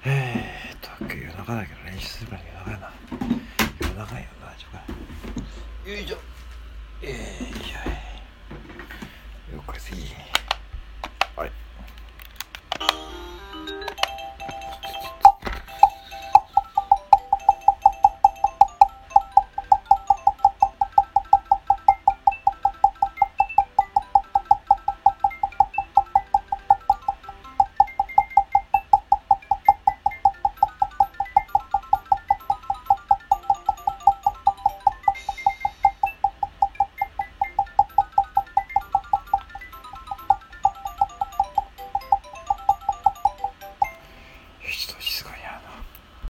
夜中だけど練習するから夜中やな。夜中やな、ちょっと。よいしょ。よいしょ。よっこいしょ。